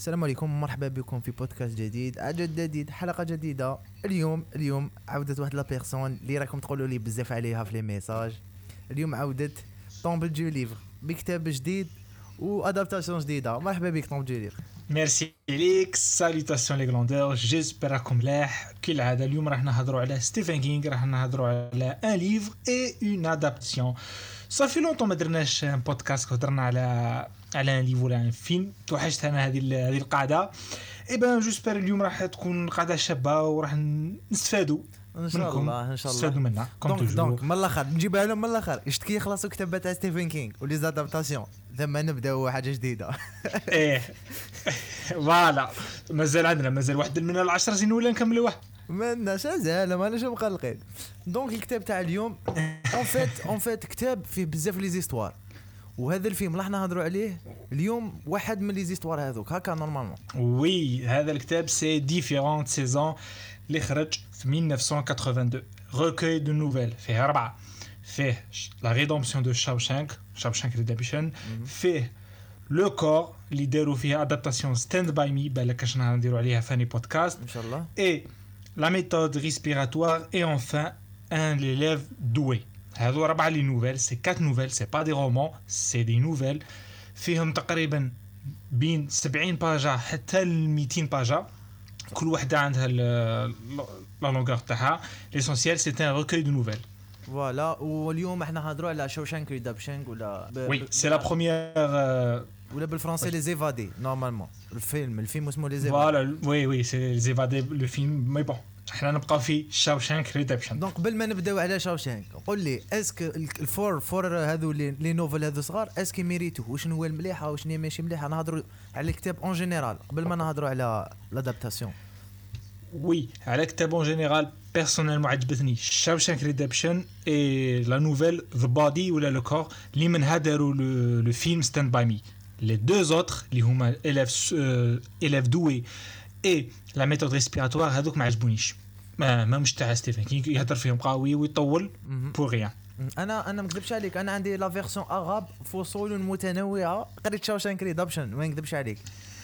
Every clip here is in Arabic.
السلام عليكم، مرحبا بكم في بودكاست جديد، عدد جديد، حلقه جديده. اليوم عودت واحد لا بيرسون اللي راكم تقولوا لي بزاف عليها في لي ميساج. اليوم عودت طومبل دو ليفر بكتاب جديد وادابتاسيون جديده. مرحبا بك طومبل دو ليفر. ميرسي ليك. ساليتاسيون لي غلوندور، جيسبر راكم ملاح. كالعاده اليوم راح نهضروا على ستيفن كينغ، راح نهضروا على ان ليفر اي اون ادابتاسيون. صافي لونطون ما درناش ان بودكاست هضرنا على ان ليفر ولا ان فيلم. توحشت انا هذه القاعده. اي بان جيسبر اليوم راح تكون قاعده شابه وراح نستفادوا ان شاء الله نستفادوا منها دونك من الاخر نجيبها لهم من الاخر. يشتكي يخلصوا كتاب تاع ستيفن كينغ ولي زادابتاسيون ثم نبداو حاجه جديده. ايه فوالا. مازال واحد من 10 سنين ولا نكملوه. ما شازال ماناش مقلقين. دونك الكتاب تاع اليوم اون فيت كتاب فيه بزاف لي زيستوار، وهذا الفيلم راح نهضروا عليه اليوم واحد من لي زيستوار هذوك هكا نورمالمون. وي هذا الكتاب سي ديفيرونت سيزون اللي خرج في 1982. ريكوي دو نوفيل فيه 4. فيه لا ريدومسيون دو شاوشانك ريدمبشن. فيه لو كور اللي داروا فيها ادابتاسيون ستاند باي مي، بالك اش نديروا عليها فاني بودكاست ان شاء الله. اي لا ميثود ريسبيراتوار اي انفان ان ليليف دوي. هذو 4 لي نوفيل، سي 4 نوفيل، سي با دي رومان، سي دي نوفيل. فيهم تقريبا بين 70 باجا حتى ل 200 باجا، كل وحده عندها لا لونغور تاعها. ليسونسيال سي ان ريكوي دو نوفيل. فوالا. واليوم احنا هضروا على شوشانك ريدمبشن ولا وي سي لا بروميير ولا بالفرنسي لي زيفادي نورمالمون. الفيلم اسمه لي زيفادي. فوالا وي سي زيفادي لو فيلم. مي بون احنا نبقى في شاوشانك ريدمبشن. دونك قبل ما نبداو على شاوشانك قول لي اسك الفور هذو لي نوفل هذو صغار اسكي ميريتو وشنو هو المليحه وشنو ماشي مليحه. نهضروا على الكتاب اون جينيرال قبل ما نهضروا على لادابتاسيون. وي على كتاب اون جينيرال بيرسونيلمون عجبتني شاوشانك ريدمبشن اي لا نوفيل ذا بودي ولا لو كور اللي منها داروا لو فيلم ستاند باي مي. لي دو زوتر اللي هما élève doué اي لا ميثود ريسبيراتوار هذوك ما عجبونيش. ما مش تاع ستيفن كينغ يهضر فيهم قوي ويطول بور ريان. انا ما نكذبش عليك، انا عندي لا فيرسيون اغاب فصول متنوعه. قريت شاوشانك ريدمبشن ما نكذبش عليك.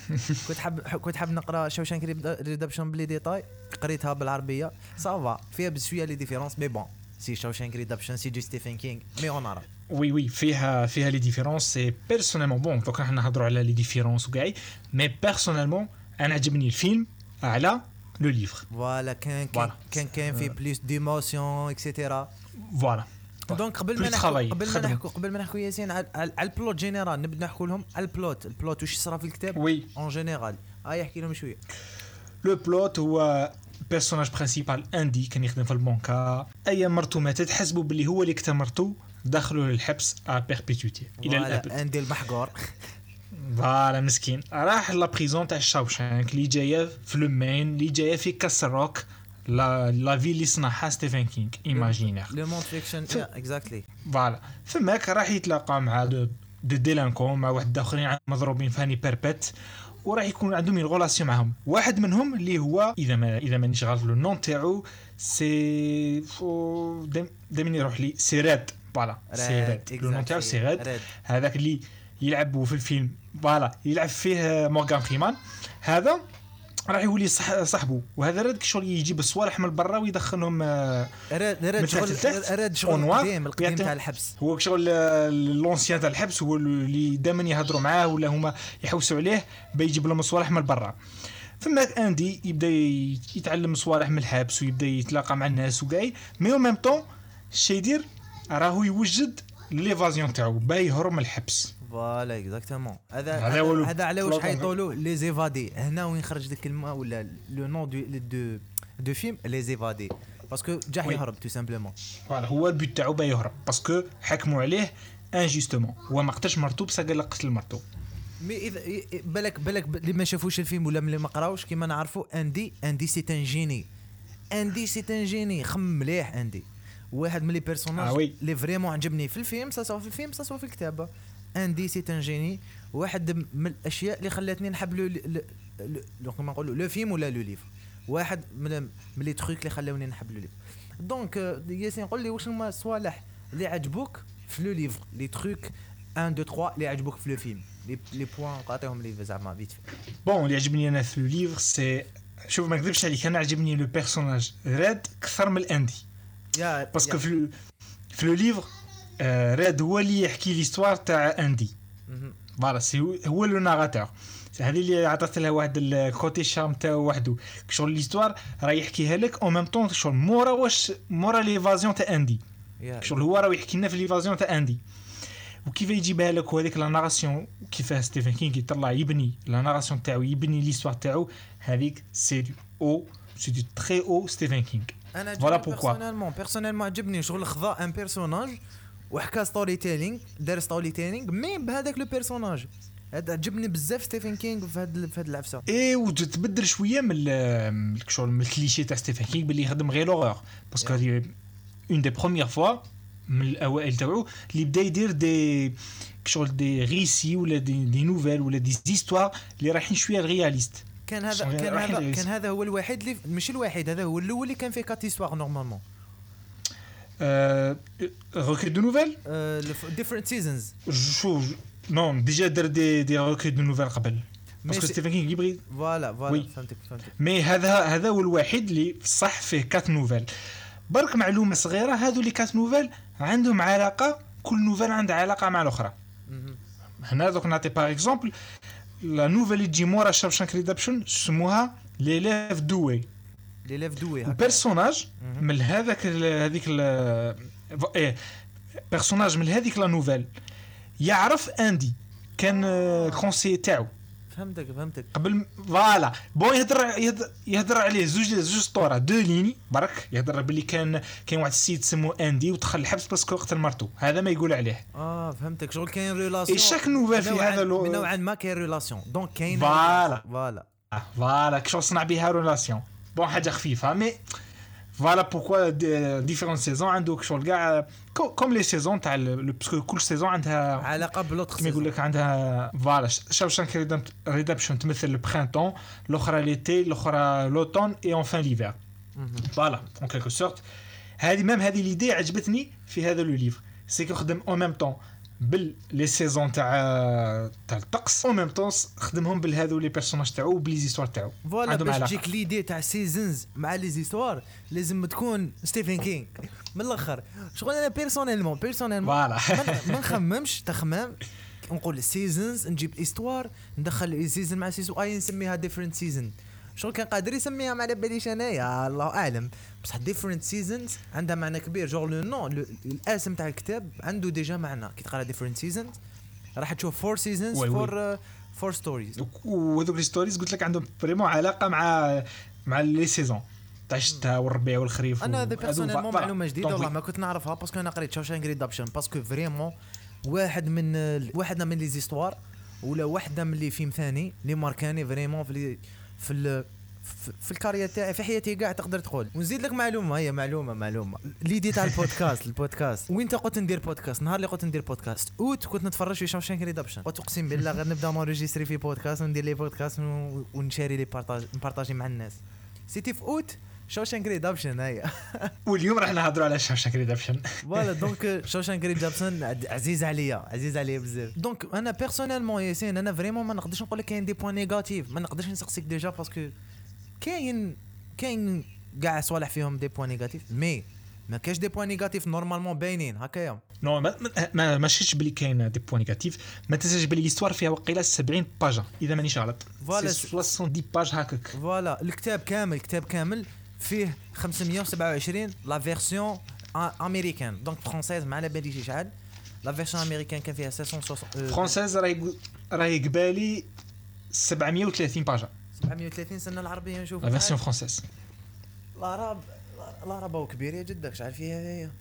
كنت حاب نقرا شاوشانك ريدمبشن بلي ديتاي، قريتها بالعربيه صافا فيها بزويه لي ديفيرونس مي بون سي شاوشانك ريدمبشن سي دو ستيفن كينغ مي اون عرب. وي فيها لي ديفيرونس. سي بيرسونيلمون بون دوك راح نهضروا على لي ديفيرونس وكاع، مي بيرسونيلمون انا عجبني الفيلم على لو ليفر. فوالا كان في بليس ديموسيون اكسيتيرا. فوالا. دونك قبل ما نحكوا ياسين على البلوت جينيرال، نبدا نحكوا لهم على البلوت واش صرا في الكتاب وي اون جينيرال. يحكي لهم شويه. لو بلوت هو بيرسوناج برينسيبال اندي كان يخدم في البنكه. اي مرتو ماتت حسبوا باللي هو اللي قتل مرتو، دخلوا للحبس ا بيربيتوتي الى الابد. اندي المحقور. فوالا مسكين راح لا بريزون تاع شاوشانك اللي جايه في لومين اللي جايه في كاسروك لا في اللي صنعها ستيفن كينغ ايماجينير لو مونت فيكشن اكزاكتلي. فوالا فماك راح يتلاقى مع دو ديلانكون مع واحد اخرين مضروبين فاني بيربت، وراح يكون عندهم اون ريلاسيون معهم. واحد منهم اللي هو اذا مانيش غلط لو نون تاعو سي دائما يروح لي سي ريد. فوالا سي ريد لو نون تاعو سي ريد. هذاك اللي يلعبوا في الفيلم فوالا يلعب فيه مورغان فريمان. هذا راح يولي صاحبه، وهذا راد شغل يجيب الصوالح من برا ويدخلهم راد شغل القديم تاع الحبس. هو شغل لونسيان تاع الحبس، هو اللي دائما يهضروا معاه ولا هما يحوسوا عليه بيجيب لهم الصوالح من برا. فما اندي يبدا يتعلم صوالح من الحبس ويبدا يتلاقى مع الناس وكاي، مي او ميم طون الشيء يدير راهو يوجد ليفازيون تاعو باي يهرب من الحبس. فوالا اكزاكتومون. هذا على واش حيطولوا لي زيفادي. هنا وين خرج ديك الكلمه ولا لو نون دو فيلم لي زيفادي باسكو جا يهرب تو سامبلومون. فوالا هو البيت تاعو باي يهرب باسكو حكموا عليه انجوستومون. هو ما قتلش مرتو بصح قال لك قتل مرتو. مي اذا بالك اللي ما شافوش الفيلم ولا اللي ما قراوش كيما نعرفوا اندي سي ان جيني. اندي سي ان جيني خم مليح. اندي واحد من لي بيرسوناج اللي فريمون عجبني في الفيلم سواء في الكتابه. اندي سي ان جيني. واحد من الاشياء اللي خلاتني نحب لو كما نقولوا لو فيلم ولا لو ليفر. واحد من لي تروك اللي خلاوني نحب لو ليفر. دونك ياسين قول لي واش هما الصوالح اللي عجبوك في لو ليفر، لي تروك 1 2 3 اللي عجبوك في لو فيلم. لي بوين نعطيهم لي زعما فيت. بون اللي عجبني انا في الليفر سي شوف ما نكذبش عليك انا عجبني لو بيرسوناج راد اكثر من الاندي باسكو في لو ليفر راد هو اللي يحكي ليستوار تاع اندي فوالا سي هو لو ناراتور هذه اللي عطات لها واحد الكوتي شارم تاعو وحده شغل ليستوار راه يحكيها لك او ميم طون شغل مورا ليفازيون تاع اندي شغل هو راه يحكي لنا في ليفازيون تاع اندي وكيف يجيبها لك وهذيك لا ناراسيون كيفاه ستيفن كينغ يطلع يبني لا ناراسيون تاعو يبني ليستوار تاعو هذيك سي دو تري او ستيفن كينغ. انا فوالا بوركوا بيرسونيلمون عجبني شغل خذا ان بيرسوناج وحكى ستوري تيلينغ دار ستوري تيلينغ مي بهذاك لو بيرسوناج هذا عجبني بزاف ستيفن كينغ في هاد العفسه اي وتبدل شويه من شغل من الكليشيه تاع ستيفن كينغ باللي يخدم غير لوغور باسكو هذه اون دي بروميير فوا من الاوائل تاعو اللي بدا يدير دي شغل دي ريسي ولا دي نوفيل ولا دي زيستوار اللي رايحين شويه رياليست. كان هذا هو الوحيد اللي ماشي الوحيد هذا هو الاول اللي كان فيه كات هيستوار نورمالمون روكي دو نوفيل ديفرنت سيزونز شو نون ديجا دار دي روكي دو نوفيل قبل باسكو ستيفن كينغ يبغي فوالا فهمتك مي هذا هو الوحيد اللي صح فيه كات نوفيل. برك معلومه صغيره هذو لي كات نوفيل عندهم علاقه كل نوفيل عندها علاقه مع الاخرى. هنا دوك نعطي باغ اكزومبل لا نوفيل اللي تجي مورا شاوشانك ريدابشن سموها ليليف دوي بيرسوناج من هذيك بيرسوناج من هذيك لا نوفيل يعرف اندي كان كونسي تاعو فهمتك قبل فوالا بون يهضر عليه زوج سطوره دو ليني برك يهضر باللي كان واحد السيد سمو اندي ودخل الحبس باسكو قتل مرتو هذا ما يقول عليه فهمتك شغل كاين ريلاسيون اي شاك نوفيل في هذا من نوعا ما كاين ريلاسيون دونك كاين فوالا شغل صنع بها ريلاسيون بون حاجه خفيفه مي فوالا بوركوا ديفيرون سيزون عندك شغل كاع كوم لي سيزون تاع باسكو كل سيزون عندها علاقه بلوطخ كيما يقول لك عندها فوالا شاوشانك ريدابشن تمثل البرينتون الاخرى ليتي الاخرى لوتون اي اونفان ليفير فوالا اون كيلكو سورت هذه ليدي عجبتني في هذا لو ليفر سي كو خدم اون ميم طون بال لي سيزون تاع الطقس او ميم طون خدمهم بالهذو لي بيرسوناج تاعو وبلي زيستوار تاعو فوالا باش تجيك ليدي تاع سيزونز مع لي زيستوار لازم تكون ستيفن كينغ من الاخر شغل انا بيرسونيلمون فوالا ما نخممش تخمام نقول سيزونز نجيب استوار ندخل سيزون مع سيزون نسميها ديفرنت سيزون شغل كان قادر يسميها ما على باليش انايا الله اعلم بصح ديفرنت سيزونز عندها معنى كبير جوغ لو نون الاسم تاع الكتاب عنده ديجا معنى كي تقرا ديفرنت سيزونز راح تشوف 4 سيزونز فور ستوريز وهذوك لي ستوريز قلت لك عندهم فريمون علاقه مع لي سيزون تاع الشتاء والربيع والخريف انا هذا بيرسونيلمون معلومه جديده والله ما كنت نعرفها باسكو انا قريت شاوشانك ريدابشن باسكو فريمون واحد من لي زيستوار ولا واحده من لي فيلم ثاني اللي ماركاني فريمون في الكارير تاعي في حياتي كاع تقدر تقول ونزيد لك معلومه هي معلومه ليدي تاع البودكاست وين قلت ندير بودكاست نهار اللي قلت ندير بودكاست كنت نتفرج في شاوشانك ريدابشن وتقسم بالله غير نبدا نوريجيستري في بودكاست وندير لي بودكاست ونشاري لي نبارطاجي مع الناس سيتي في اوت شاوشانك ريدابشن هي واليوم راح نهضروا على شاوشانك ريدابشن فوالا دونك شاوشانك ريدابشن عزيز عليا بزاف دونك انا بيرسونيلمون ياسين انا فريمون ما نقدرش نقول لك كاين دي بوين نيجاتيف ما نقدرش نسقسيك ديجا باسكو كاين كاع صوالح فيهم دي بوين نيجاتيف مي ما كاش دي بوين نيجاتيف نورمالمون باينين هكايا نو ما شفتش بلي كاين دي بوين نيجاتيف ما تنساش بلي ليستوار فيها وقيله 70 باجا اذا مانيش غلط فوالا 70 باج هكاك فوالا الكتاب كامل فيه 527 لا فيرسيون امريكان دونك فرونسيز ما على باليش شحال لا فيرسيون امريكان كان فيها 660 فرونسيز راهي قبالي 730 باجا 730 سنه العربيه نشوف لا فيرسيون فرونسيز العربه كبيره جدا شحال فيها هي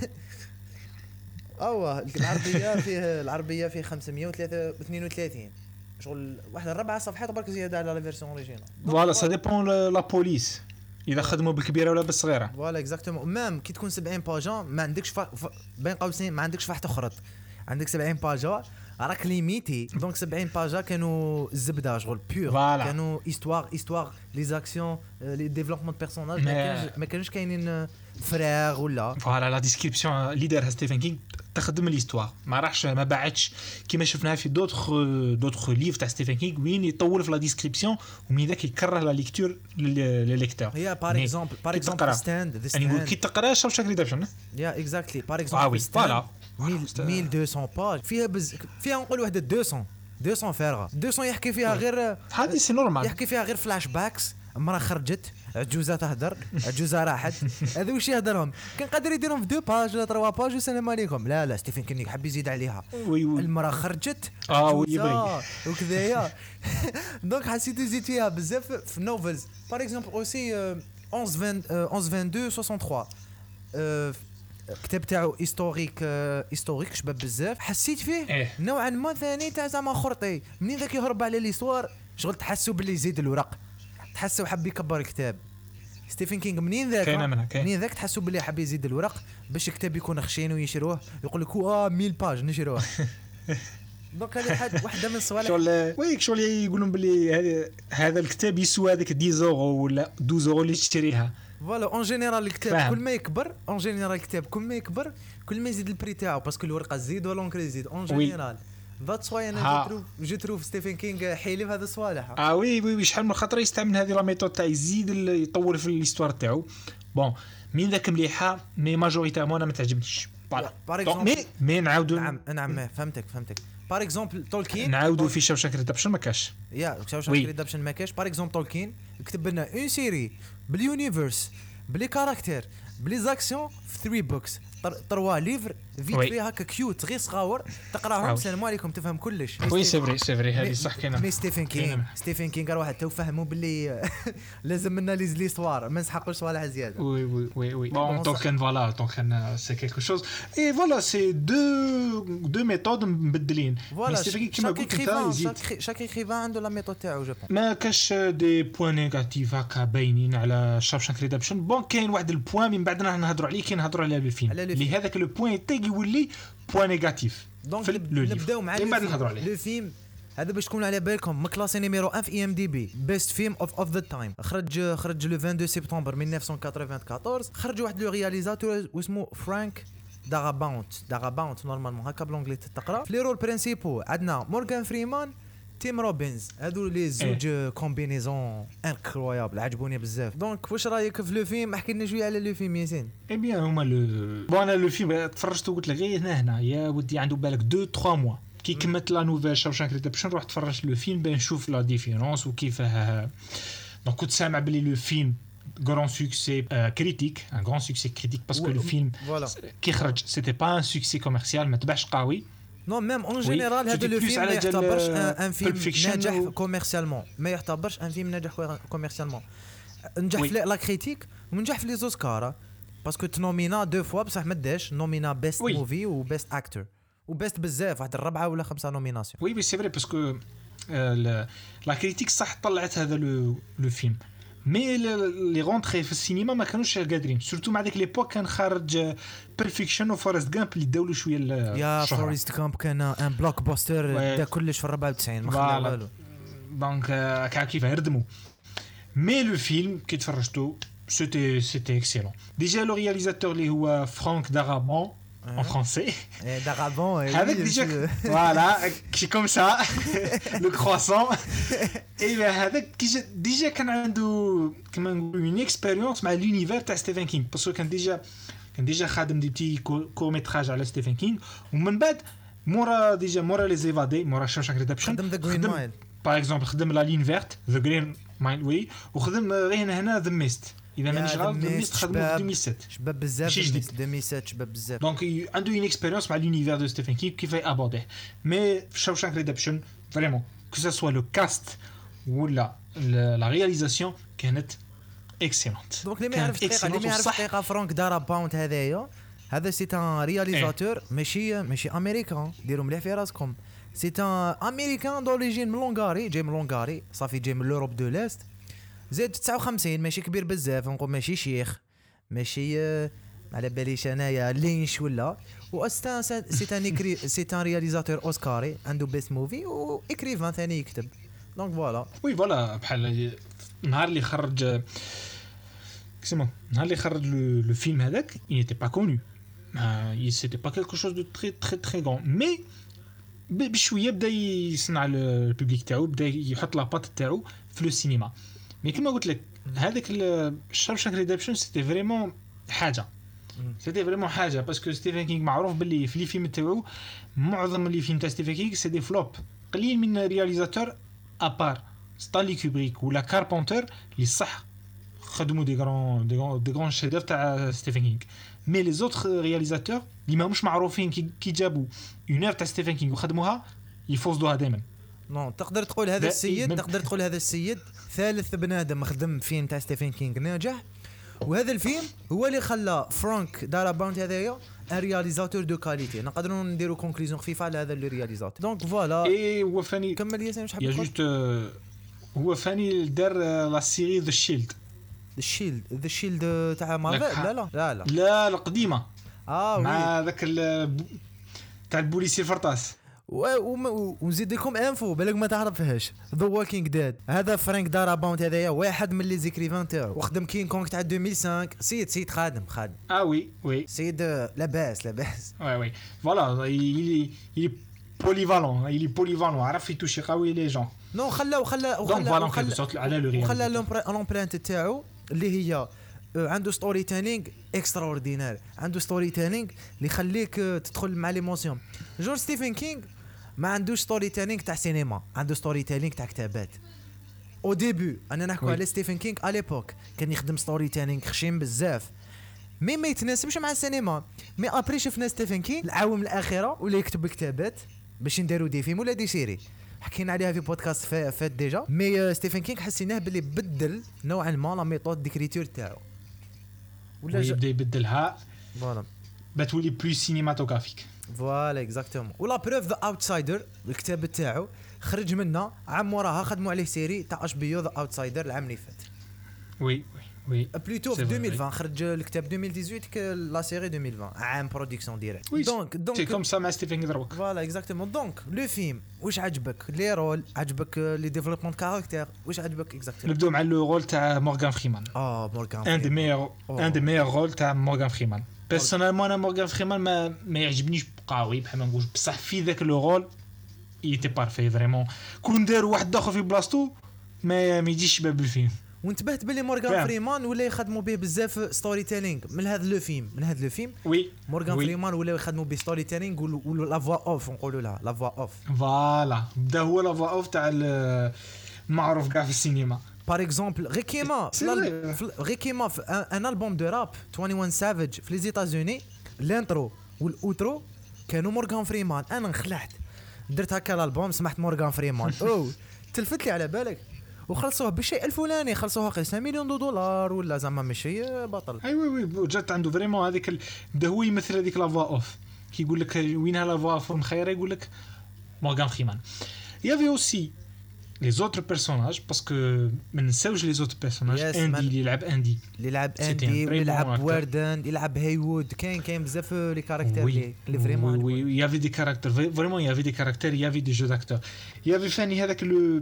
العربيه فيه 532 شغل واحد 4 صفحات برك زياده على لا فيرسيون اوريجينال فوالا سا ديبون لا بوليس اذا خدموا بالكبيره ولا بالصغيره فوالا اكزاكتومون مام كي تكون 70 باجا ما عندكش بين قوسين ما عندكش فاح تخرط عندك 70 باجا راك ليميتي دونك 70 باجا كانوا الزبده شغل بيور كانوا استوار لي زاكسيون لي ديفلوبمون دو بيرسوناج ما كانوش كاينين فراغ ولا فوالا لا ديسكريبسيون اللي دارها ستيفن كينغ تخدم ليستوار ما راحش ما باعتش كيما شفناها في دوطخ ليف تاع ستيفن كينغ وين يطول في لا ديسكريبسيون ومن ذاك يكره لا ليكتور للليكتور هي باغ اكزومبل ستاند يعني كي تقرا شاوشانك ريدمشن يا اكزاكتلي باغ اكزومبل فوالا 1200 باج فيها نقول وحده 200 فارغه 200 يحكي فيها غير هذه سي نورمال يحكي فيها غير فلاش باكس مرة خرجت عجوزة تهدر عجوزة راحت هذا واش يهدرهم كان قادر يديرهم في 2 باج ولا 3 باج والسلام عليكم لا ستيفن كينغ حب يزيد عليها المرة خرجت عجوزة وكذايا دونك حسيت يزيد فيها بزاف في نوفلز باغ اكزومبل اوسي 1122 63 كتاب تاعو هيستوريك شباب بزاف حسيت فيه نوعا ما ثاني تاع زعما خرطي منين ذاك يهرب على ليستوار شغل تحسوا باللي يزيد الورق تحسوا حب يكبر الكتاب ستيفن كينغ منين ذاك تحسوا باللي حب يزيد الورق باش الكتاب يكون خشين ويشروه يقول لك 1000 باج نشروه دونك هذه واحده من الصوالح شغل يقولون باللي هذا الكتاب يسوى هذيك 10 يورو ولا 12 يورو اللي تشتريها فوالا اون جينيرال الكتاب كل ما يكبر اون جينيرال الكتاب كل ما يكبر كل ما يزيد البري تاعو باسكو الورقه تزيد ولا لونكري يزيد اون جينيرال ذاتس واي انا جو تروف ستيفن كينغ حيلي في هذا الصوالح وي شحال من خطره يستعمل هذه لا ميثود تاع يزيد يطول في ليستوار تاعو بون من ذاك مليحه مي ماجوريتيرمون انا ما تعجبنيش مي نعاودوا نعم فهمتك باغ اكزومبل تولكين نعاودوا في شاوشانك ريدمشن ما كاش شاوشانك ريدمشن ما كاش باغ اكزومبل تولكين كتب لنا اون سيري باليونيفرس بلي كاركتير بلي زاكسيون في 3 بوكس 3 ليفر فيت فيها هكا كيوت غير صغاور تقراهم السلام عليكم تفهم كلش وي سي فري هذه صح كاينه مي ستيفن كينغ راه حتى فهموا باللي لازم لنا ليستوار ما نسحقوش صوالح زياده وي بون دونك فوالا دونك سي كيلكو شوز اي فوالا سي دو ميثود مبدلين كيما قلت انت شاك ايكريفان عنده لا ميثود تاعو جو ما كاش دي بوين نيجاتيف هكا باينين على شاوشانك ريدمشن بون كاين واحد البوين من بعد نهضروا عليه كي نهضروا على الفيلم اللي هذاك لو بوين تاعي يولي بوين نيجاتيف دونك نبداو مع لو فيلم هذا باش تكونوا على بالكم مكلاسي نيميرو 1 في IMDb بيست فيلم اوف ذا تايم خرج لو 22 سبتمبر 1994 خرج واحد لو رياليزاتور اسمه فرانك داغاباونت نورمالمون هكا بالانجلي تقرا في لي رول برينسيبو عندنا مورغان فريمان تيم روبنز هادو لي زوج كومبينيزون انكرويابل عجبوني بزاف دونك واش رايك في لو فيلم احكي لنا شويه على لو فيلم ياسين اي بيان هما بون انا لو فيلم تفرجت وقلت لك غير هنا يا ودي عنده بالك 2 3 موا كي كملت لا نوفيل شاوشانك ريدمشن روح تفرجت لو فيلم باه نشوف لا ديفيرونس وكيفاه دونك كنت سامع بلي لو فيلم grand succès critique un grand succès critique parce que le film qui خرج c'était pas un succès commercial ما تباعش قوي نو ميم اون جينيرال هذا لو فيلم ما يعتبرش ان فيلم ناجح كوميرسيالمون ما يعتبرش ان فيلم ناجح كوميرسيالمون نجح في لا كريتيك ونجح في لي زوسكار باسكو تنومينا 2 فوا بصح ما داش نومينا بيست موفي وبيست اكتور وبيست بزاف واحد 4 ولا 5 نوميناسيون وي سي فري باسكو لا كريتيك صح طلعت هذا لو فيلم مي لي غونطري في السينما ما كانوش قادرين سورتو مع ديك ليبوك كان خارج بيرفكشن وفورست جامب اللي داولوا شويه يا فورست جامب كان ان بلوك باستر دا كلش في 94 ما خلى والو دونك كيف يردموا مي لو فيلم كي تفرجتو سيتي اكسيلون ديجا لو رياليزاتور اللي هو فرانك دارابون en français. D'Arabon. Avec déjà, voilà, c'est comme ça, le croissant. Et avec déjà كان عنده كما نقولوا une expérience مع l'univers تاع ستيفن كينغ باسكو كان ديجا خادم دي بتي كور ميتراج على ستيفن كينغ ومن بعد مورا لي زيفادي مورا شاوشانك ريدمشن خدم ذا جرين مايل باغ اكزومبل خدم لا لين فيرت ذا جرين مايل وي وخدم غير هنا ذا ميست اذا مانيش غلط ميست خدموا في 2007 شباب بزاف 2007 شباب بزاف دونك عنده اون اكسبيريونس مع لونيفير دو ستيفن كينغ كيف ابورديه مي في شاوشانك ريدمشن فريمون كو سا سوا لو كاست ولا لا رياليزاسيون كانت اكسيلونت دونك اللي ما يعرفش دقيقه فرانك داراباونت هذا سي ان رياليزاتور ماشي امريكان ديروا مليح في راسكم سي ان امريكان دوريجين من لونغاري جاي من لونغاري صافي جاي من لوروب دو ليست زاد 59 ماشي كبير بزاف نقول ماشي شيخ ماشي على باليش انايا لينش ولا واستان سي ان رياليزاتور اوسكاري عنده بيست موفي واكريفان ثاني يكتب دونك فوالا وي فوالا بحال النهار اللي خرج لو فيلم هذاك il n'était pas connu c'était pas quelque chose de très très très grand, mais بشويه بدا يصنع البوبليك تاعو، بدا يحط لاباط تاعو في لو سينما. مي كما قلت لك هذاك شاوشانك ريدمبشن سيتي فريمون حاجه، سيتي فريمون حاجه، باسكو ستيفن كينغ معروف باللي في لي فيلم تاعو معظم لي فيلم تاع ستيفن كينغ سي دي فلوب. قليل من رياليزاتور ابار ستانلي كوبريك ولا كاربونتر اللي صح خدموا دي غران شيديف تاع ستيفن كينغ. مي لي زوتر رياليزاتور اللي ماهمش معروفين كي جابوا اون اور تاع ستيفن كينغ وخدموها يفوزوها دائما. نو تقدر تقول هذا السيد ثالث بنادم خدم فيلم تاع ستيفن كينغ ناجح، وهذا الفيلم هو اللي خلى فرانك دارابونت هذايا ان رياليزاتور دو كاليتي. نقدروا نديروا كونكلوزيون خفيفه على هذا لو رياليزاتور. دونك فوالا اي هو فاني كمل ياسين واش حاب تقول. جوست هو فاني دار لا سيري ذا شيلد. ذا شيلد تاع مارفل. لا القديمه مع ذاك تاع البوليسي الفرطاس. ونزيد لكم انفو بالك ما تعرفهاش، ذا ووكينغ ديد. هذا فرانك دارابونت هذايا واحد من لي زيكريفان تاعو، وخدم كين كونغ تاع 2005. سيد خادم وي سيد لاباس وي فوالا il est polyvalent عرف يتوشي قوي لي جون. نو خلى على لومبرانت تاعو اللي هي عنده ستوري تيلينغ اكسترا اوردينير، عنده ستوري تيلينغ اللي يخليك تدخل مع ليموسيون. جورج ستيفن كينغ ما عندوش ستوري تيلينغ تاع سينما، عنده ستوري تيلينغ تاع كتابات. او ديبي انا نحكوا على ستيفن كينغ على ليبوك كان يخدم ستوري تيلينغ خشيم بزاف، ما يتناسبش مع السينما. مي ابري شفنا ستيفن كينغ العوام الاخيره ولا يكتب كتابات باش نديروا دي فيلم ولا دي سيري، حكينا عليها في بودكاست فات ديجا. مي ستيفن كينغ حسيناه باللي بدل نوعا ما لا ميثود ديكريتور تاعو، ولا يبدا يبدلها فوالا بتولي بلو سينماتوغرافيك. فوالا اكزاكتومون. ولا بروف ذا اوتسايدر الكتاب تاعو خرج منه عام وراها خدموا عليه سيري تاع اش بي يو ذا اوتسايدر العام اللي فات. وي بلوتو في 2020 خرج الكتاب 2018 لا سيري 2020 عام برودكسيون ديريكت. دونك سي كوم سا مع ستيفن دروك. فوالا اكزاكتومون. دونك لو فيلم واش عجبك؟ لي رول عجبك؟ لي ديفلوبمون كاركتير واش عجبك اكزاكتومون؟ نبداو مع لو رول تاع مورغان فريمان. مورغان ان دي ميور رول تاع مورغان فريمان. بيرسونيلمون انا مورغان فريمان ما يعجبنيش قوي بحال ما نقولش، بصح في ذاك لو رول يتي بارفي فريمون. كون داروا واحد اخر في بلاصتو ما يجيش شباب الفيلم. وانتبهت باللي مورغان فريمان ولا يخدموا به بزاف ستوري تيلينغ من هذا لو فيلم. وي مورغان فريمان ولا يخدموا به ستوري تيلينغ ولا لا فوا اوف نقولوا لها لا فوا اوف. فوالا بدا هو لا فوا اوف تاع المعروف كاع في السينما. بار اكزومبل غير كيما في ان البوم دو راب 21 سافيج في لي زيتازوني الانترو والاوترو كانوا مورغان فريمان. انا انخلعت درت هكا الالبوم سمحت مورغان فريمان تلفت لي على بالك وخلصوه بالشيء الفلاني، خلصوها قيس مليون دولار ولا زعما ماشي بطل. وي جات عنده فريمون هذيك بدا هو يمثل هذيك لا فوا اوف كيقول لك وينها لا فوا اوف مخيره يقول لك مورغان فريمان. يافي اوسي لي زوتر بيرسوناج باسكو ما نساوش لي زوتر بيرسوناج. اندي اللي يلعب اندي يلعب واردن يلعب هايوود كاين بزاف لي كاركتير لي فريمون وي يافي دي كاركتير فريمون يافي دي كاركتير يافي دي جو داكتور. يافي فاني هذاك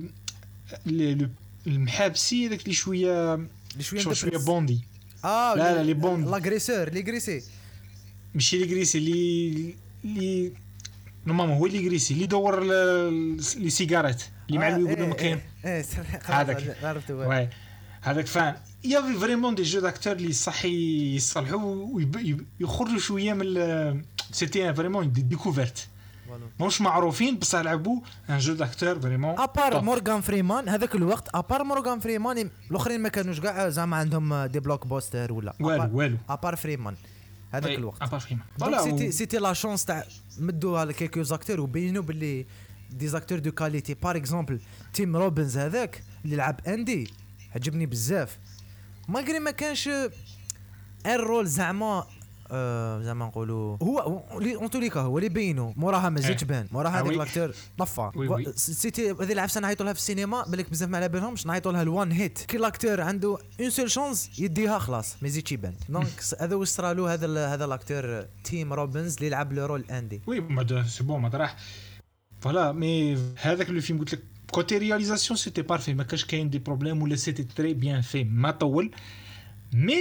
المحابسي هذاك اللي شويه بوندي. لا لي بوند لاغريسور لي غريسي ماشي لي غريسي اللي نورمالمون هو اللي غريسي اللي يدور لي سيجارات اللي مع الويبو مكان هذاك عرفته. واي هذاك فان يافي فريمون دي جو داكتور اللي صحي يصلحوا ويخرجوا شويه من سيتي فريمون دي ديكوفيرت مش معروفين بس لعبوا ان جو داكتور فريمون. ابار مورغان فريمان هذاك الوقت ابار مورغان فريمان الاخرين ما كانوش كاع زعما عندهم دي بلوك بوستر ولا والو ابار فريمان هذاك الوقت. ابار فريمان فوالا سيتي لا شونس تاع مدوا على كيكو زاكتور وبينوا باللي دي زاكتور دو كاليتي. بار اكزومبل تيم روبنز هذاك اللي لعب اندي عجبني بزاف ماغري ما كانش الرول زعما نقولوا هو اللي اونتوليكا هو اللي بينو موراها ما زيدش بان موراها هذاك لاكتور طفى. سيتي هذه العفسه نعيطوا لها في السينما بالك بزاف ما على بالهمش نعيطوا لها الوان هيت كي لاكتور عنده اون سول شانس يديها خلاص ما يزيدش يبان. دونك هذا واش صرالو هذا لاكتور تيم روبنز اللي لعب لو رول اندي. وي ما سي بون ما راح فوالا. مي هذاك لو فيلم قلت لك كوتي رياليزاسيون سيتي بارفي ما كاش كاين دي بروبليم ولا سيتي تري بيان في ما طول. مي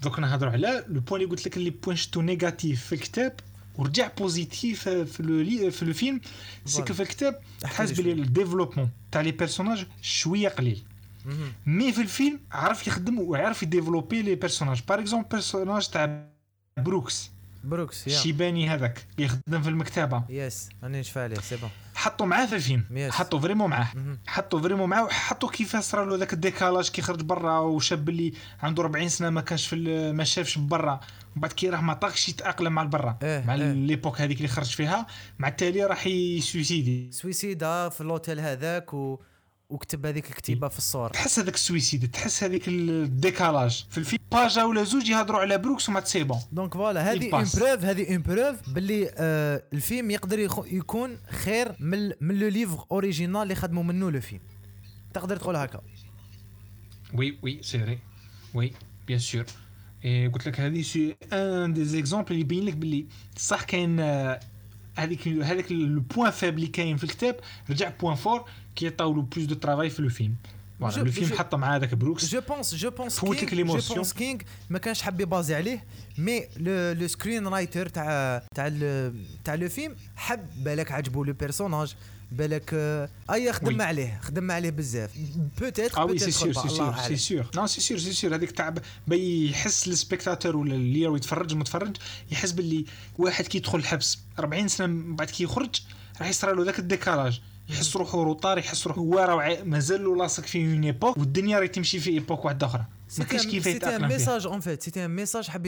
دوك نهضروا على لو بوين اللي قلت لك اللي بوين شتو نيجاتيف في الكتاب ورجع بوزيتيف في لو فيلم. سي كو في الكتاب تحس بلي الديفلوبمون تاع لي بيرسوناج شويه قليل، مي في الفيلم عرف يخدم ويعرف يديفلوبي لي بيرسوناج. باغ اكزومبل بيرسوناج تاع بروكس الشيباني هذاك اللي يخدم في المكتبه، يس راني نشفى عليه سي بون، حطوا معاه في الفيلم، حطوا فريمون معاه وحطوا كيفاش صرا له ذاك الديكالاج كي خرج برا وشاب اللي عنده 40 سنه ما كانش ما شافش برا، وبعد كي راه ما طاقش يتاقلم مع البرا مع ليبوك هذيك اللي خرج فيها، مع التالي راح سويسيدا في اللوتيل هذاك وكتب هذيك الكتيبه في الصور. تحس هذاك السويسيد، تحس هذيك الديكالاج في الفيلم باجا ولا زوج يهضروا على بروكس وما تسي بون. دونك فوالا هذه اون بروف باللي الفيلم يقدر يكون خير من لو ليفر اوريجينال اللي خدموا منه لو فيلم، تقدر تقول هكا. وي سي فري، وي بيان سور. قلت لك هذه سي ان دي زيكزامبل اللي يبين لك باللي صح كاين هذاك لو بوين فابل اللي كاين في الكتاب رجع بوين فور كي يطاولوا بلوس دو ترافاي في لو فيلم. فوالا لو فيلم حط مع هذاك بروكس. جو بونس كينغ ما كانش حاب يبازي عليه، مي لو سكرين رايتر تاع لو فيلم حب بالك عجبو لو بيرسوناج، بالك خدم عليه بزاف بوتيتر سي سور نو سي سور هذيك تاع بيحس السبيكتاتور ولا اللي يتفرج المتفرج يحس باللي واحد كي يدخل الحبس 40 سنه بعد كي يخرج راح يصير له ذاك الديكالاج، يحس روحه روطار، يحس روحه هو راه مازال له لاصق في اون ايبوك والدنيا راهي تمشي في ايبوك واحده اخرى، ما كاينش كيف يتاقلم فيه. ميساج اون فيت سيتي ان ميساج حب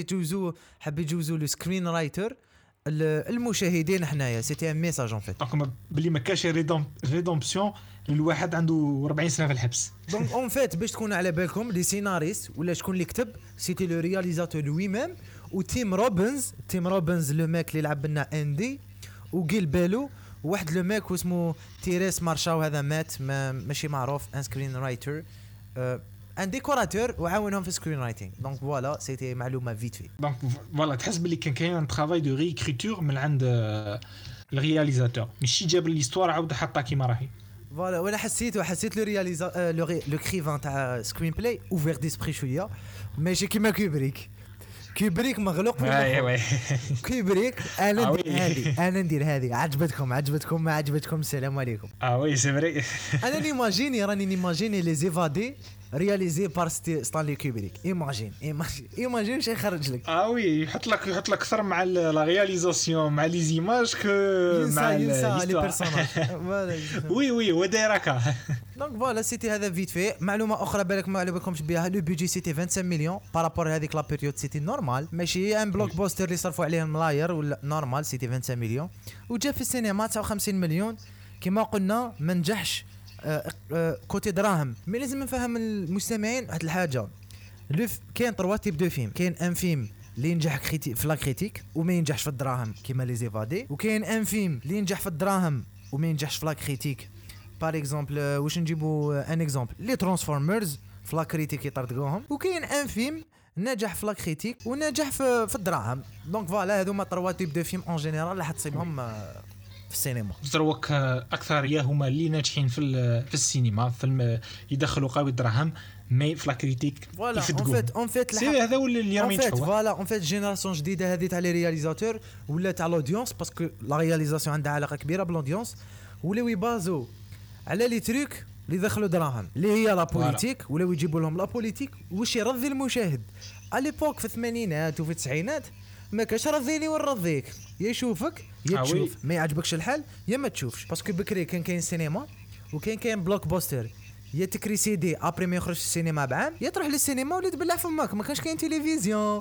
يجوزو لو سكرين رايتر المشاهدين حنايا، سيتي ان ميساج اون فيت دونك بلي ما كاش ريدومبسيون للواحد عنده 40 سنه في الحبس. دونك اون فيت باش تكون على بالكم لي سيناريست ولا شكون اللي كتب، سيتي لو رياليزاتور لوي ميم وتيم روبنز لو ماك اللي لعب لنا اندي وقيل بالو واحد لو ماك اسمه تيريس مارشاو، هذا مات ماشي معروف، ان سكرين رايتر ان ديكوراتور وعاونهم في سكرين رايتنج. دونك فوالا سيتي معلومه فيت في. دونك فوالا تحس باللي كان كاين ان ترافاي دو ريكريتور من عند الرياليزاتور، ماشي جاب ليستوار عاود حطها كيما راهي. فوالا وانا حسيت لو رياليزا لو كريفان تاع سكرين بلاي اوفير ديسبري شويه، ماشي كيما كيبريك مغلوق في كيبريك. انا ندير هذه عجبتكم ما عجبتكم السلام عليكم. وي سي فري. انا نيماجيني لي زيفادي رياليزي بار ستانلي كوبريك. ايماجين شي يخرج لك. وي يحط لك اكثر مع لا رياليزاسيون مع لي زيماج كو مع لي بيرسوناج. وي ودايركا. دونك فوالا سيتي هذا فيت في. معلومه اخرى بالك ما عليكمش بها، لو بيجي سيتي 25 مليون بارابور هذيك لا بيريود، سيتي نورمال ماشي ان بلوك بوستر اللي صرفوا عليه ملاير ولا نورمال، سيتي 25 مليون وجا في السينما 59 مليون كما قلنا ما نجحش كوتي دراهم. مي لازم نفهم المستمعين واحد الحاجه، كاين 3 تيب دو فيلم، كاين ان فيلم اللي ينجح في لا كريتيك وما ينجحش في الدراهم كيما لي زيفادي، وكاين ان فيلم اللي ينجح في الدراهم وما ينجحش في لا كريتيك. بار اكزومبل واش نجيبوا ان اكزومبل لي ترانسفورمرز في لا كريتيك يطردقوهم، وكاين ان فيلم نجح في لا كريتيك ونجح في الدراهم. دونك فوالا هذوما 3 تيب دو فيلم اون جينيرال اللي حتصيبهم في السينما. دروك اكثر هما اللي ناجحين في السينما، فيلم يدخلوا قوي الدراهم مي في لا كريتيك يفدقوا. اون فيت سي هذا ولا اللي راهم ينجحوا. فوالا اون فيت جينيراسيون جديده هذه تاع لي رياليزاتور ولا تاع لودونس، باسكو لا رياليزاسيون عندها علاقه كبيره بلودونس، ولاو يبازو على لي تروك اللي دخلوا دراهم اللي هي لا بوليتيك، ولاو يجيبوا لهم لا بوليتيك واش يرضي المشاهد. على ليبوك في الثمانينات وفي التسعينات ما كاش رضيني ونرضيك، يا يشوفك يا تشوف، ما يعجبكش الحال يا ما تشوفش. باسكو بكري كان كاين سينما وكاين بلوك بوستر، يا تكري سي دي ابري ما يخرج السينما بعام، يا تروح للسينما ولا تبلع فماك. ما كانش كاين تلفزيون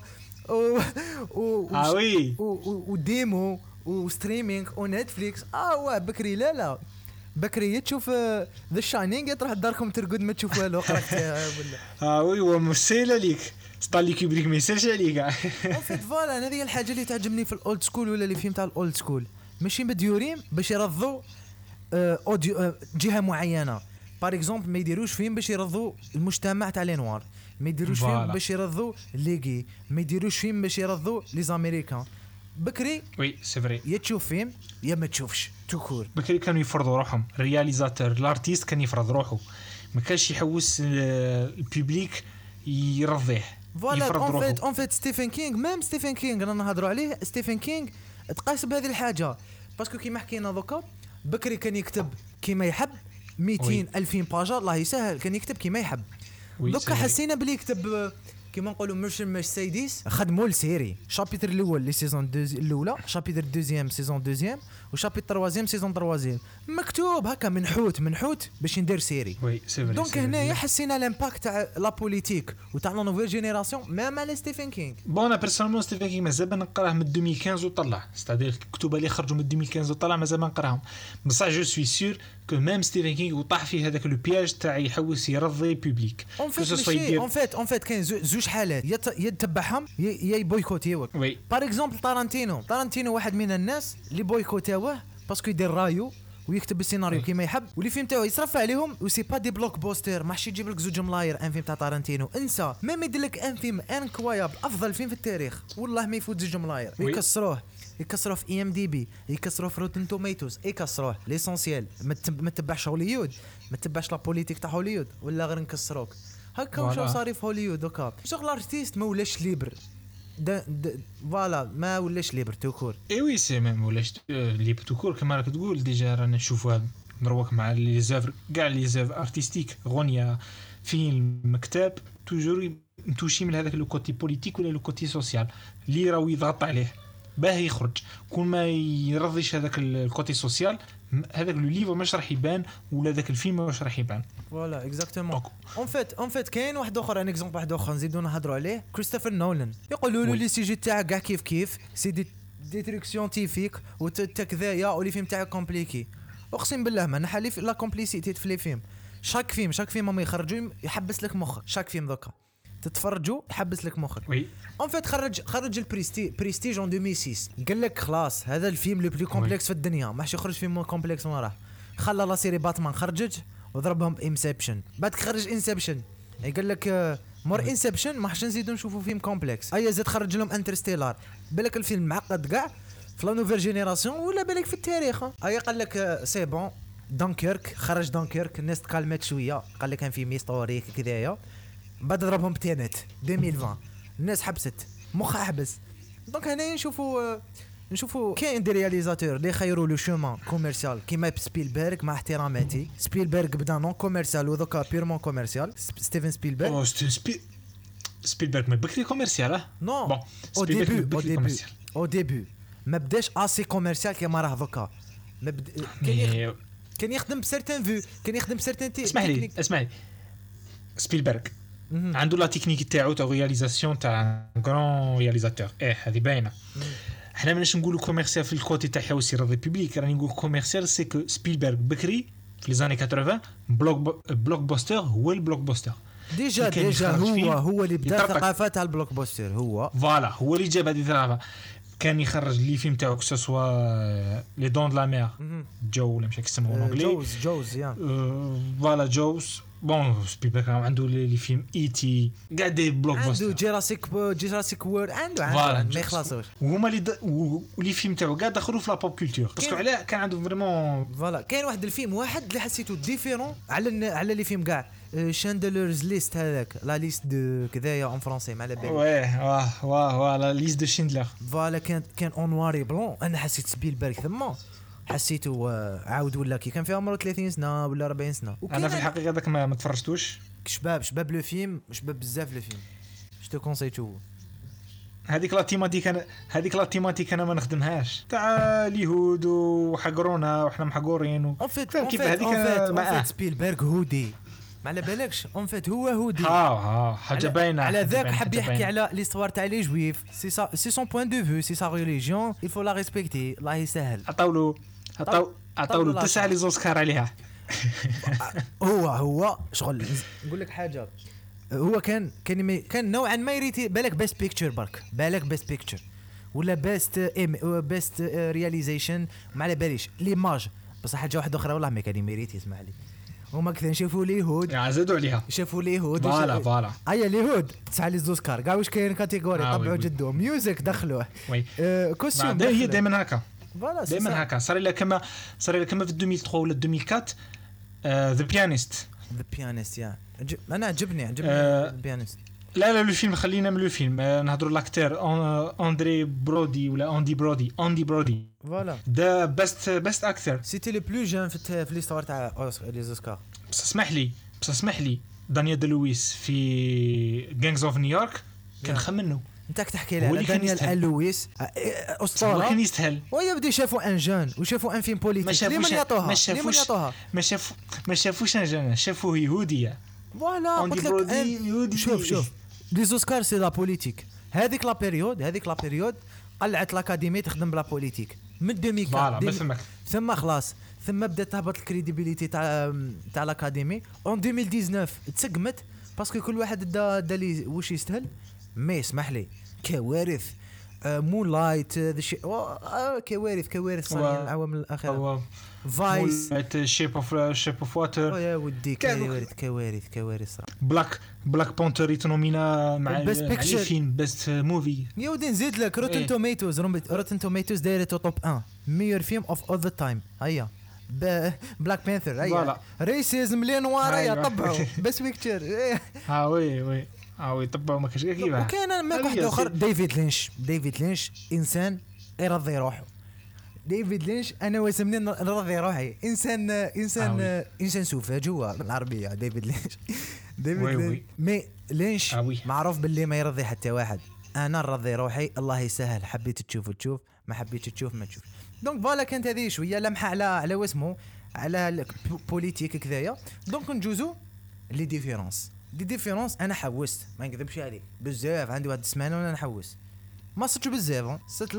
وديمو وستريمينغ ونتفليكس. بكري لا بكري تشوف ذا شاينينغ تروح لداركم ترقد ما تشوف والو قراك ولا وي ومسيله ليك ستانلي كوبريك ما يسالش عليك. فيت فوالا هذه الحاجه اللي تعجبني في الاولد سكول ولا اللي فيلم تاع الاولد سكول، ماشي مديورين باش يرضوا اوديو جهه معينه. بار اكزومبل ما يديروش فيلم باش يرضوا المجتمع تاع لي نوار، ما يديروش فيلم باش يرضوا ليغي، ما يديروش فيلم باش يرضوا لي زاميريكان. بكري وي سي فري يا تشوف فيلم يا ما تشوفش توكور. بكري كانوا يفرضوا روحهم، الرياليزاتور الارتيست كان يفرض روحه، ما كانش يحوس الببليك يرضيه. فوالا اون فيت ستيفن كينغ ميم ستيفن كينغ رانا نهضروا عليه ستيفن كينغ تقاس بهذه الحاجه باسكو كيما حكينا دوكا بكري كان يكتب كيما يحب 200 2000 باجا الله يسهل كان يكتب كيما يحب دوكا حسينا بلي يكتب كيما نقولوا مرسيدس خدموا السيري شابيتر الاول لي سيزون الاولى شابيتر دوزيام سيزون دوزيام وشابيتر تروازيام سيزون تروازيام مكتوب هكا منحوت باش ندير سيري دونك هنايا حسينا الامباكت تاع لا بوليتيك وتاع لا نوفيل جينيراسيون ميم على ستيفن كينغ بون انا بيرسونيلمون ستيفن كينغ مازال نقراه من 2015 وطلع ستادير الكتب اللي خرجوا من 2015 وطلع مازال ما نقراهم بصح جو سوي سور كو ميم ستيفن كينغ وطاح في هذاك لو بياج تاع يحوس يرضي بوبليك اون فيت كاين زوج حالات يتبعهم يا يبويكوتيوك بار اكزومبل تارانتينو واحد من الناس اللي بويكوتاوه باسكو يدير رايو ويكتب السيناريو كيما يحب واللي فيلم تاعو يصرف عليهم وسي با دي بلوك بوستر ماحش يجيب لك زوج ملاير ان فيلم تاع تارانتينو انسى ميم يدير لك ان فيلم انكوايابل افضل فيلم في التاريخ والله ما يفوت زوج ملاير يكسروه في IMDb يكسروه في روتن توميتوز يكسروه ليسونسيال ما تتبعش هوليود ما تتبعش لا بوليتيك تاع هوليود ولا غير نكسروك هكا واش صار في هوليود دوكا شغل ارتيست ما ولاش ليبر فوالا ما ولاش ليبر توكور وي سي ميم ولاش ليبر توكور كما راك تقول ديجا رانا نشوفوا نروك مع لي زافر كاع لي زافر ارتستيك غنية فيلم كتاب توجور متوشي من هذاك لو كوتي بوليتيك ولا لو كوتي سوسيال اللي راهو يضغط عليه باه يخرج كون ما يرضيش هذاك الكوتي سوسيال هذاك لو ليفر ماش راح يبان ولا ذاك الفيلم ماش راح يبان فوالا اكزاكتومون اون فيت كاين واحد اخر ان اكزومبل واحد اخر نزيدو نهضروا عليه كريستوفر نولان يقولوا له لي سيجي تاعك كاع كيف سي دي تريك سيانتيفيك وتكذايا ولي فيلم تاعك كومبليكي اقسم بالله ما نحلي لا كومبليسيتي في لي فيلم شاك فيلم ما يخرجوا يحبس لك مخك شاك فيلم دوكا تتفرجوا يحبس لك مخك وي اون فيت خرج بريستيج ان 2006 قال لك خلاص هذا الفيلم لو بلو كومبلكس في الدنيا ماحش يخرج فيلم كومبلكس ما راه خلى لا سيري باتمان خرجت وضربهم بانسبشن بعد خرج انسبشن قال لك مور انسبشن ما حش نزيدو نشوفوا فيلم كومبلكس زاد خرج لهم انترستيلار بالك الفيلم معقد كاع في لا نوفيل جينيراسيون ولا بالك في التاريخ قال لك سي بون خرج دانكيرك الناس تكالمت شويه قال لك كان فيلم هيستوريك كذايا بعد ضربهم بتينت 2020 الناس حبست مخها حبس دونك هنا نشوفوا كاين دي رياليزاتور اللي خيروا لو شومان كوميرسيال كيما سبيلبرغ مع احتراماتي سبيلبرغ بدا نون كوميرسيال ودوكا بيرمون كوميرسيال ستيفن سبيلبرغ سبيلبرغ ما بكري كوميرسيال نو او ديبي ما بداش اسي كوميرسيال كيما راه دوكا كان يخدم بسيرتان فيو كان يخدم بسيرتان اسمعني سبيلبرغ عنده لا تكنيك تاعو تاع رياليزاسيون تاع غران رياليزاتور هذه باينه احنا ماناش نقولوا كوميرسيال في الكوتي تاع حوس يرضي بوبليك راني نقول كوميرسيال سي كو سبيلبرغ بكري في لي زاني 80 بلوك بوستر هو البلوك بوستر ديجا هو اللي بدا ثقافه تاع البلوك بوستر فوالا هو اللي جاب هذه الثقافه كان يخرج لي فيلم تاعو سوا لي دون دو لا مير جو ولا مش يسموه انجلي جوز فوالا جوز بون سبيلبرغ عنده لي فيلم تي كاع دي بلوك بوستر عنده جيراسيك وورد عنده ما يخلصوش وهما اللي فيلم تاعو كاع دخلوا في لا بوب كولتور باسكو علاه كان عنده فريمون فوالا كاين واحد الفيلم واحد اللي حسيته ديفيرون على لي فيلم كاع شاندلرز ليست هذاك لا ليست دو كذايا اون فرونسي ما على بالي واه لا ليست دو شيندلر فوالا كان اون نواري بلون انا حسيت سبيلبرغ ثما حسيته عاود ولا كي كان في عمره 30 سنه ولا 40 سنه انا في الحقيقه داك ما تفرجتوش شباب لو فيلم شباب بزاف لو فيلم جو كونساي تو هذيك لا تيماتيك انا ما نخدمهاش تاع اليهود وحقرونا وحنا محقورين كيف هذيك سبيلبرغ هودي ما على بالكش اون فيت هو هودي حاجه باينه على ذاك حب يحكي على ليستوار تاع لي جويف سي سون بوين دو فيو سي سا ريليجيون il faut la respecter الله يسهل عطاولو 9 لي زوسكار عليها هو شغل نقول لك حاجه هو كان نوعا ما يريتي بالك بيست بيكتشر بالك بيست بيكتشر ولا بيست رياليزيشن ما على باليش ليماج بصح حاجه واحده اخرى والله ما كان يميريتي اسمع لي هما كثر نشوفوا اليهود زادوا عليها شافوا اليهود فوالا اليهود 9 لي زوسكار كاع واش كاين كاتيجوري طبعوا جدو ميوزك دخلوه كوستيوم هي دائما هكا دائما هكا صار لها كما في 2003 ولا 2004 ذا بيانيست يا انا عجبني البيانيست لا لو فيلم خلينا من لو فيلم نهضروا لاكتور اندري برودي ولا اندي برودي فوالا دا بست اكتر سيتي لو بلو جون في ليستوار تاع لي زوسكار. بس اسمح لي دانيال دي لويس في جانجز اوف نيويورك كان خمنو انت تحكي لي على دانيال لويس اسطوره كان يستاهل ويبدي شافوا ان جون وشافوا ان فيلم بوليتيك لمن يعطوها ما شافوش ان جون شافوه يهوديه فوالا قلت لك شوف لي زوسكار سي لا بوليتيك هذيك لا بيريود قلعت لاكاديمي تخدم بلا بوليتيك من 2004 ثم خلاص ثم بدات تهبط الكريديبيليتي تاع لاكاديمي اون 2019 تسقمت باسكو كل واحد دا لي واش يستاهل. مي اسمح لي كوارث مون لايت ذا شي كوارث صايرين العوامل الاخيره فايس شيب اوف واتر يا ودي كوارث بلاك بانثر يتنومينا مع الفيلم بيست موفي يا ودي نزيد لك روتن توميتوز دايرته توب 1 ميور فيلم اوف اول ذا تايم. هيا بلاك بانثر هيا ريسيزم لي نوار هيا طبعوا بس بيكتشر وي طبعوا ما كاش كيفاه. وكاين ما واحد اخر ديفيد لينش انسان يرضي روحه. ديفيد لينش انا واسمني نرضي روحي انسان سوفاج هو بالعربيه. ديفيد لينش مي لينش معروف باللي ما يرضي حتى واحد. انا نرضي روحي الله يسهل حبيت تشوف ما حبيت تشوف ما تشوف. دونك فوالا كانت هذه شويه لمحه على واسمه على البوليتيك كذايا. دونك نجوزو لي ديفيرونس انا حوست ما نكذبش عليك بزاف عندي واحد السمانه وانا نحوس ما صدتش بزاف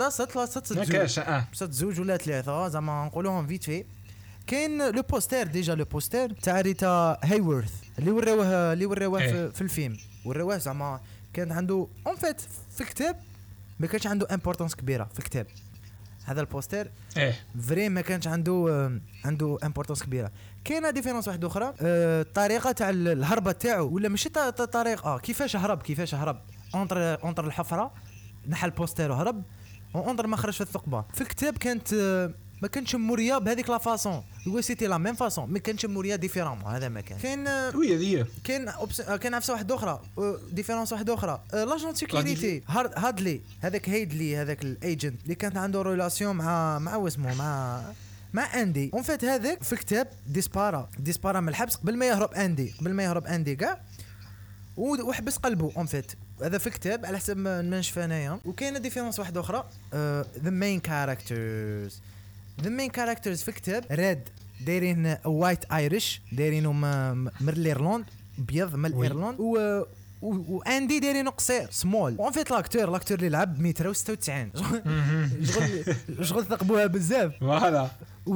ست زوج ولا ثلاثه زعما نقولوهم فيت في. كاين لو بوستر تاع ريتا هايورث اللي وراوه في الفيلم وراوه زعما كان عنده اون فيت في كتاب ما كانش عنده امبورطانس كبيره في كتاب هذا البوستر فري ما كانش عنده امبورطانس كبيره. كاينه ديفيرونس واحده اخرى الطريقه تاع الهربه تاعو ولا ماشي طريقه كيفاش هرب اونتر الحفره نحى البوستر وهرب اونتر ما خرج في الثقبه. في الكتاب كانت ما كانش موريا بهذيك لا فاصون هو سيتي لا ميم فاصون ما كانش موريا ديفيرون. هذا ما كان وي هذه كان عفسه واحده اخرى ديفيرونس واحده اخرى لاجون سيكوريتي هادلي هذاك الايجنت اللي كانت عنده ريلاسيون مع واسمه مع اندي اون فيت هذاك في كتاب ديسبارا من الحبس قبل ما يهرب اندي كاع وحبس قلبه اون فيت. هذا في كتاب على حسب ما نشوف انايا. وكاينه ديفيرونس واحده اخرى ذا مين كاركترز في كتاب ريد دايرين وايت ايريش دايرينو من الايرلند بيض من الايرلند واندي دايرينو قصير سمول. اون فيت لاكتور اللي لعب 196 شغل ثقبوها بزاف فوالا.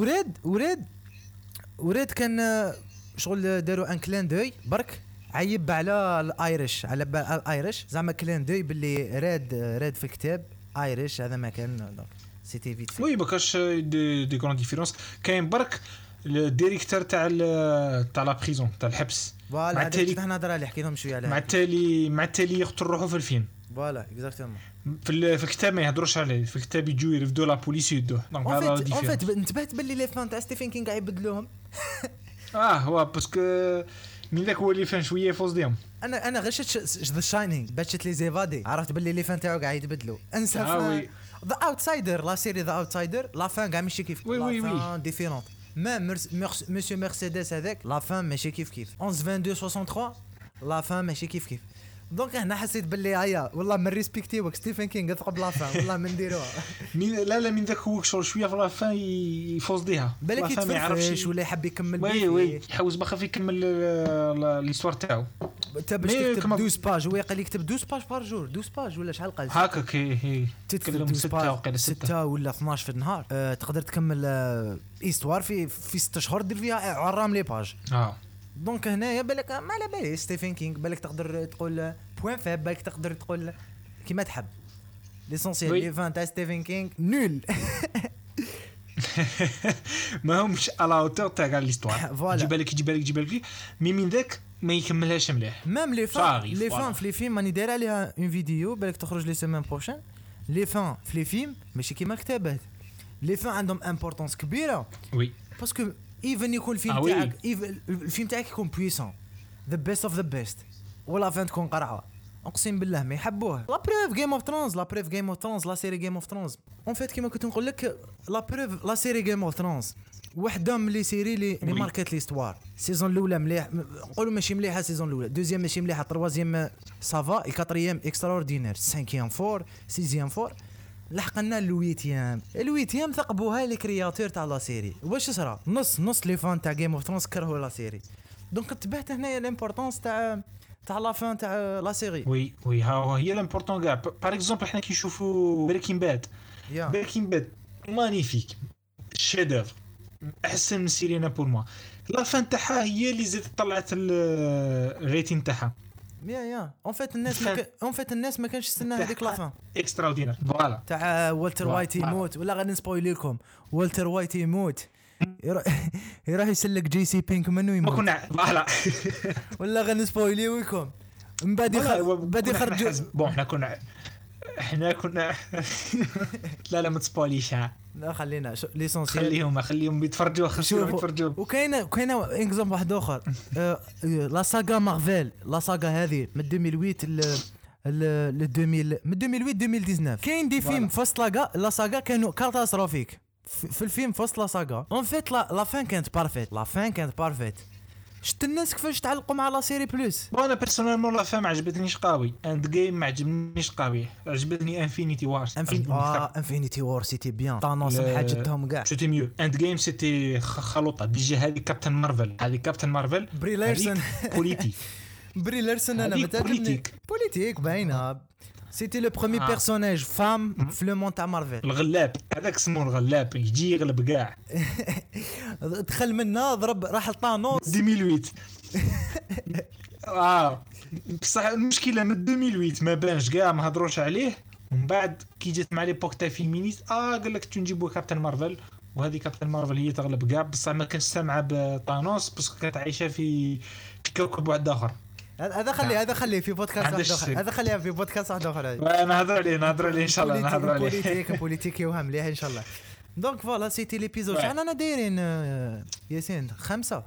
وريد كان شغل داروا ان كلان دوي برك عيب على الايريش زعما كلان دوي باللي راد في الكتاب ايريش هذا ما كان سيتي فيت وي ما كاش دي كرون ديفيرونس. كاين برك الديريكتور تاع لا بريزون تاع الحبس فوالا هذا حنا نهضر عليه حكينا لهم شويه عليه مع التالي يقتل روحه في الفيلم فوالا اكزاكتومون. في الكتاب ما يهضروش عليه في الكتاب يجوا يرفدوا لا بوليس يدوه. دونك هذا ديفيرونس. اون فيت انتبهت باللي لي فان تاع ستيفن كينغ قاعد يبدلوهم هو باسكو من ذاك هو اللي فان شويه فوز ديهم. انا غشت ذا شاينينغ باتشت لي زيفادي عرفت باللي لي فان تاعو قاعد يتبدلوا. انسى ذا اوتسايدر لا سيري ذا اوتسايدر لا فان قاع ماشي كيف لا فان ديفيرونت. ما مسيو مرسيدس هذاك لا فان ماشي كيف 11/22/63 لا فان ماشي كيف. دونك هنا حسيت باللي هيا والله من ريسبكتيوك ستيفن كينغ ثقب لا فان والله من نديروها لا من ذاك هو شويه في لا فان يفوز ديها بالك ما يعرفش ولا يحب يكمل وي يحوز بخاف يكمل ليستوار تاعو. انت باش تكتب 12 باج هو يقول لك تكتب 12 باج بار جور 12 باج ولا شحال قال هكاك هي تكتب 6 ولا 12 في النهار تقدر تكمل ايستوار في 6 شهور دير فيها عرام لي باج. دونك هنايا بالك ما على بالي ستيفن كينغ بالك تقدر تقول بوين فاب بالك تقدر تقول كيما تحب ليسونسيال لي فان تاع ستيفن كينغ نول ما همش على اوتور تاع ليستوار. جيب بالك مي من ذاك ما يكملهاش مليح. ميم لي فان في لي فيلم ماني داير عليها اون فيديو بالك تخرج لي سيمين بروشين. لي فان في لي فيلم ماشي كيما كتابات لي فان عندهم امبورطونس كبيره وي باسكو ايفن يكون الفيلم تاعك الفيلم تاعك يكون بويسون ذا بيست اوف ذا بيست ولا فين تكون قرعه اقسم بالله ما يحبوه. لا بروف جيم اوف ثرونز، لا بروف جيم اوف ثرونز، لا سيري جيم اوف ثرونز اون فيت كيما كنت نقول لك. لا بروف لا سيري جيم اوف ثرونز وحده من لي سيري لي ماركات ليستوار. السيزون الاولى مليح، نقولوا ماشي مليحه السيزون الاولى، دوزيام ماشي مليحه، تروازيام سافا، الكاتريام اكسترا اوردينير، سانكيام فور، سيزيام فور، لحقنا الويتيام ثقبوها لي كرياتور تاع لا سيري. واش صرا نص لي فان تاع جيم اوف ثرونز كرهوا لا سيري. دونك تبعت هنايا لامبورطونس تاع لا فان تاع لا سيري. وي ها هي لامبورطون كاع. باغ اكزومبل حنا كي نشوفوا بريكين باد، مانيفيك شيدوفر، احسن من سيرينا بور موا. لا فان تاعها هي اللي زادت طلعت الريتين تاعها. يا اون فيت الناس ما كانش يستنى هذيك لا فان اكسترا اوردينير. فوالا تاع والتر وايت يموت، ولا غادي نسبويل لكم والتر وايت يموت، يروح يسلك جي سي بينك منو يموت، ما كنا فوالا ولا غادي نسبويل لكم من بعد يخرجوا. بون احنا كنا لا ما تسبويليش. لا خلينا ليسونسيال، خليهم يتفرجوا وكاينه اكزومبل واحد اخر. لا ساغا مارفل، لا ساغا هذه من 2008 ل 2019 كاين دي فيلم فاست لا ساغا كانوا كاتاستروفيك في الفيلم فاست لا ساغا. اون فيت لا فان كانت بارفيت. شفت الناس كيفاش تعلقوا مع لا سيري بلوس. انا بيرسونيلمون لا فام عجبتنيش قوي، اند جيم ما عجبنيش قوي، عجبتني انفينيتي وارز. انفينيتي وار سيتي بيان، طانوس حاجتهم كاع سيتي ميو. اند جيم سيتي خلوطه ديجا. هذه كابتن مارفل بري لارسون بوليتيك بري لارسون انا متاكد بوليتيك باينه. سيتي لو بروميي بيرسوناج فام في لو مون تاع مارفل. الغلاب هذاك اسمه الغلاب، يجي يغلب كاع. دخل منا ضرب راح لطانوس 2008. بصح المشكله من 2008 ما بانش كاع، ما هضروش عليه. ومن بعد كي جات مع ليبوك تاع فيمينيست قال لك تنجيبوا كابتن مارفل، وهذه كابتن مارفل هي تغلب كاع. بصح ما كانش سامعه بطانوس بس كانت عايشه في كوكب واحد اخر. هذا خليه في بودكاست واحد اخر، هذا خليها في بودكاست واحد اخر. انا نهضر عليه ان شاء الله، نهضر عليه بوليتيكي وهم مليح ان شاء الله. دونك فوالا سيتي ليبيزود انا دايرين ياسين 5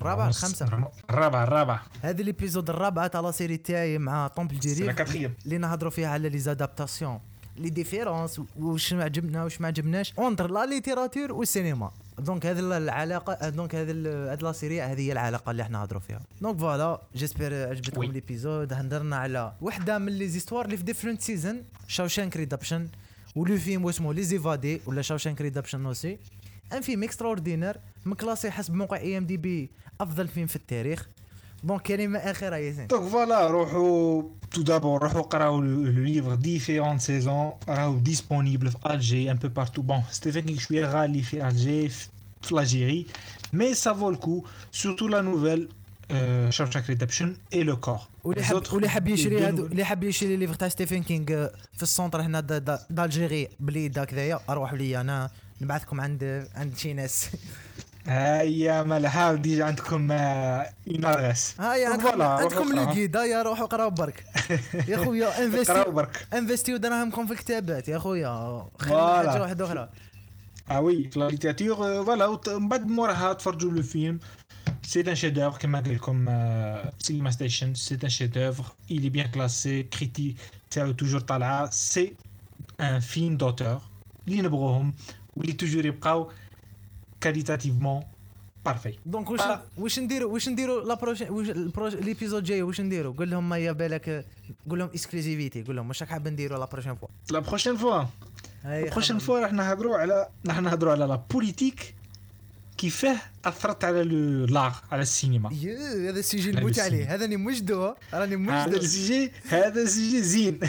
الرابعه. هذه ليبيزود الرابعه تاع لا سيري تاعي مع طومبل جيري اللي نهضروا فيها على لي زادابتاسيون، لي ديفيرونس، واش عجبنا واش ما عجبناش اونتر لا ليتيراتور والسينما. دونك هذه العلاقه، دونك هذه لا سيري هذه هي العلاقه اللي احنا نهضروا فيها. دونك فوالا جيسبر عجبتكم ليبيزود. هندرنا على وحده من لي زيستوار اللي في ديفرنت سيزون، شاوشانك ريدابشن، ولو فيلم اسمه لي زيفادي ولا شاوشانك ريدابشن اوسي. ان فيلم اكسترا اوردينير مكلاسي حسب موقع IMDb افضل فيلم في التاريخ. دونك كلمه اخيره ياسين. دونك فوالا روحوا تو دابور روحوا قراو لو ليفر ديفيرون سيزون، راهو ديسپونيبل في الجي ان بو بارتو. بون ستيفن كينغ شويه غالي في الجي في لاجيري، مي سا فو الكو سورتو لا نوفيل شاوشانك ريدابشن اي لو كور. واللي حاب يشري هذو، اللي حاب يشري ليفر تاع ستيفن كينغ في السونتر هنا دالجيري بلي داك ذايا، اروحوا لي انا نبعثكم عند شي ناس. هيا مالها ديجا عندكم إنارس. هيا عندكم لو جيد. هيا روحوا قراو برك يا خويا، انفستيو دراهمكم في الكتابات يا خويا، خلي حاجه واحده اخرى. وي في لا ليتيراتور فوالا. من بعد موراها تفرجوا لو فيلم. سي ان شيف دوفر كما قال لكم سينما ستيشن. سي ان شيف دوفر، il est bien classé، كريتي تاعو توجور طالعه. سي ان فيلم دوتور اللي نبغوهم واللي توجور يبقاو كاليتاتيفمون بارفي. دونك واش نديروا لا بروشين ليبيزود جاي واش نديروا؟ قول لهم ما يا بالك، قول لهم اكسكلوزيفيتي، قول لهم واش راك حاب نديروا لا بروشين فوا. راح نهضروا على لا بوليتيك كيفاه اثرت على لاغ، على السينما. هذا السيجي نموت عليه، هذا نمجدو راني مجدو. هذا السيجي زين.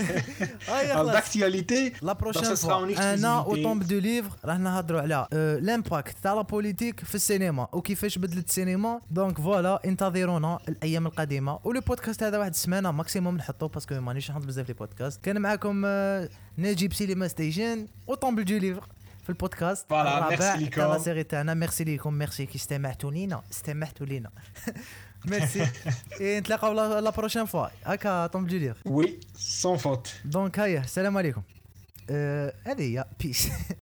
داكتياليتي لا بروشين فوا انا وطومب دو ليفر راح نهضروا على لامباكت تاع لا بوليتيك في السينما وكيفاش بدلت السينما. دونك فوالا انتظرونا الايام القادمه. ولو بودكاست هذا واحد السمانه ماكسيموم نحطوه باسكو مانيش نحط بزاف لي بودكاست. كان معكم نجيب سينما ستيشن وطومب دو ليفر في البودكاست الرابع تاع لا سيري تاعنا. ميرسي ليكم، ميرسي كي استمعتوا لينا ميرسي. نتلاقاو لا بروشين فوا هكا طومب دو ليفر. وي سون فوت. دونك هيا السلام عليكم. هذه هي بيس.